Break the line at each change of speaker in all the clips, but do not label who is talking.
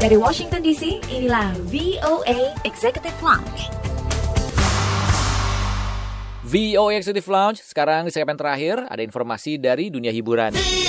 Dari Washington DC, inilah VOA Executive Lounge.
VOA Executive Lounge, sekarang di segmen terakhir ada informasi dari dunia hiburan.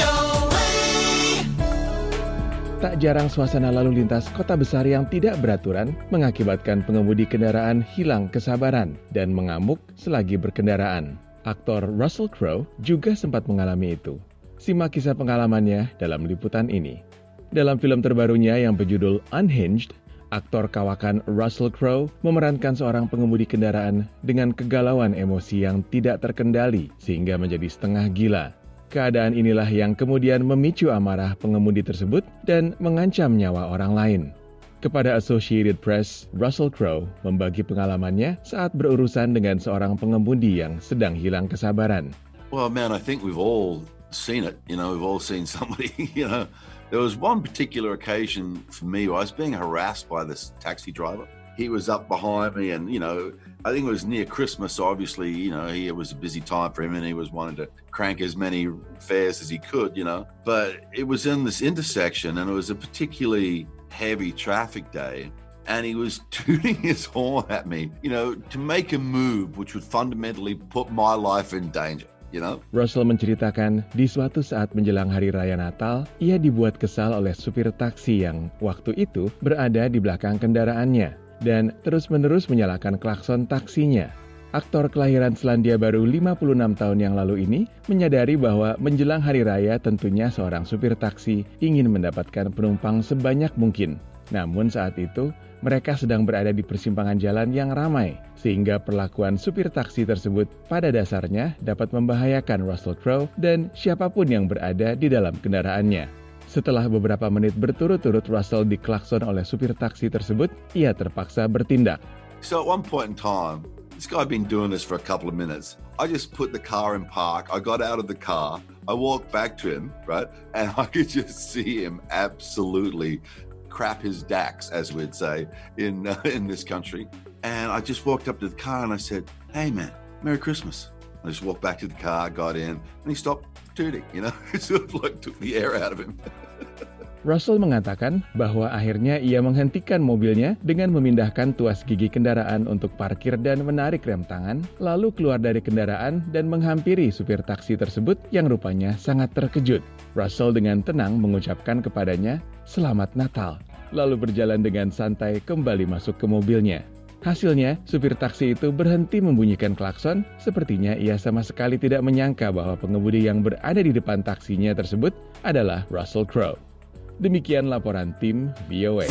Tak jarang suasana lalu lintas kota besar yang tidak beraturan mengakibatkan pengemudi kendaraan hilang kesabaran dan mengamuk selagi berkendaraan. Aktor Russell Crowe juga sempat mengalami itu. Simak kisah pengalamannya dalam liputan ini. Dalam film terbarunya yang berjudul Unhinged, aktor kawakan Russell Crowe memerankan seorang pengemudi kendaraan dengan kegalauan emosi yang tidak terkendali sehingga menjadi setengah gila. Keadaan inilah yang kemudian memicu amarah pengemudi tersebut dan mengancam nyawa orang lain. Kepada Associated Press, Russell Crowe membagi pengalamannya saat berurusan dengan seorang pengemudi yang sedang hilang kesabaran.
Well, man, I think we've all seen it. We've all seen somebody, There was one particular occasion for me where I was being harassed by this taxi driver. He was up behind me and, I think it was near Christmas, so obviously, it was a busy time for him and he was wanting to crank as many fares as he could, But it was in this intersection and it was a particularly heavy traffic day. And he was tooting his horn at me, to make a move which would fundamentally put my life in danger.
Russell menceritakan di suatu saat menjelang Hari Raya Natal, ia dibuat kesal oleh supir taksi yang waktu itu berada di belakang kendaraannya dan terus-menerus menyalakan klakson taksinya. Aktor kelahiran Selandia Baru 56 tahun yang lalu ini menyadari bahwa menjelang Hari Raya tentunya seorang supir taksi ingin mendapatkan penumpang sebanyak mungkin. Namun saat itu, mereka sedang berada di persimpangan jalan yang ramai, sehingga perlakuan supir taksi tersebut pada dasarnya dapat membahayakan Russell Crowe dan siapapun yang berada di dalam kendaraannya. Setelah beberapa menit berturut-turut Russell diklakson oleh supir taksi tersebut, ia terpaksa bertindak.
So at one point in time, this guy had been doing this for a couple of minutes. I just put the car in park, I got out of the car, I walked back to him, right? And I could just see him absolutely crap his dacks, as we'd say in this country. And I just walked up to the car and I said, "Hey man, Merry Christmas." I just walked back to the car, got in, and he stopped tooting, It sort of like took the air out of him.
Russell mengatakan bahwa akhirnya ia menghentikan mobilnya dengan memindahkan tuas gigi kendaraan untuk parkir dan menarik rem tangan, lalu keluar dari kendaraan dan menghampiri supir taksi tersebut yang rupanya sangat terkejut. Russell dengan tenang mengucapkan kepadanya, "Selamat Natal," lalu berjalan dengan santai kembali masuk ke mobilnya. Hasilnya, supir taksi itu berhenti membunyikan klakson, sepertinya ia sama sekali tidak menyangka bahwa pengemudi yang berada di depan taksinya tersebut adalah Russell Crowe. Demikian laporan tim VOA.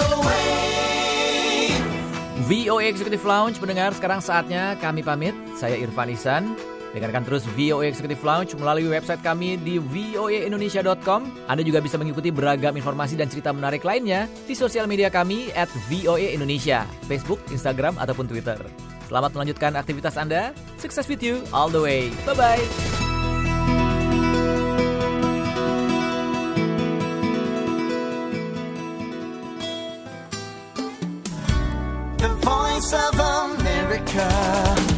VOA Executive Lounge, pendengar, sekarang saatnya kami pamit. Saya Irfan Ihsan. Dengarkan terus VOA Executive Lounge melalui website kami di voaindonesia.com. Anda juga bisa mengikuti beragam informasi dan cerita menarik lainnya di sosial media kami @voaindonesia, Facebook, Instagram, ataupun Twitter. Selamat melanjutkan aktivitas Anda. Success with you all the way. Bye-bye.
The Voice of America.